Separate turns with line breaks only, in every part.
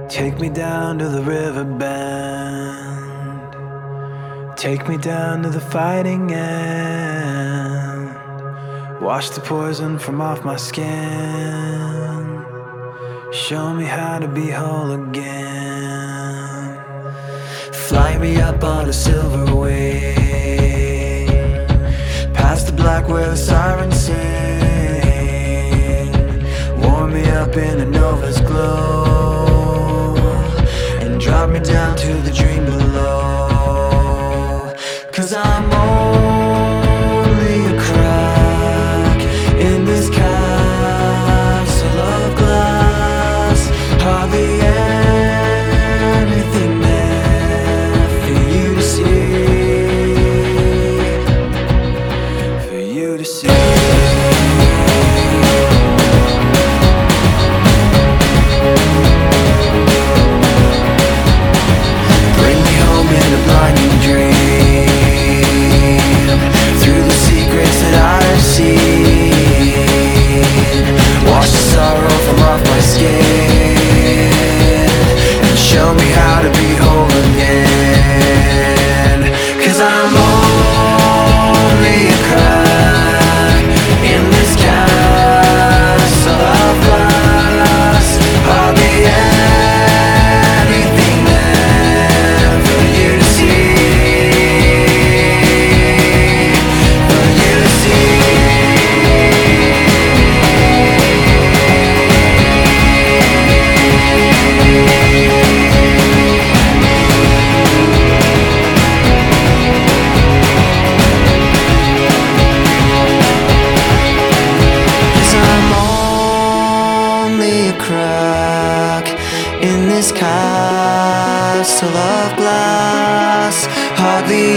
Take me down to the river bend. Take me down to the fighting end. Wash the poison from off my skin. Show me how to be whole again. Fly me up on a silver wing, past the black where the sirens sing. Warm me up in a nova's glow, and drop me down to the dream below. 'Cause I'm only a crack in this castle of glass. Hardly anything there for you to see, for you to see. Bring me home in a blinding dream, through the secrets that I've seen. Wash the sorrow from off my skin, and show me how to be whole again. 'Cause I'm only a crack in this castle of glass. Hardly anything there for you to see, for you to see. Crack in this castle of glass. Hardly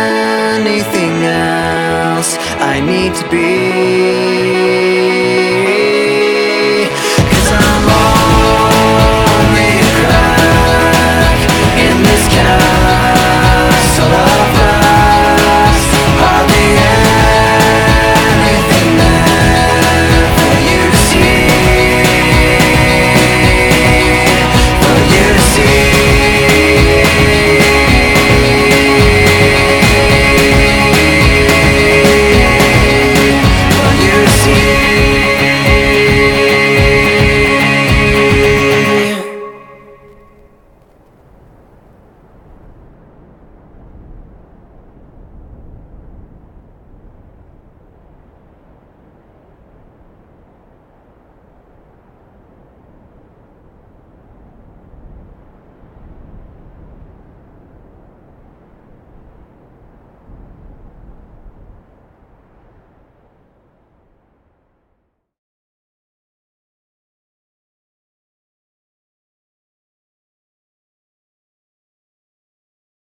anything else I need to be.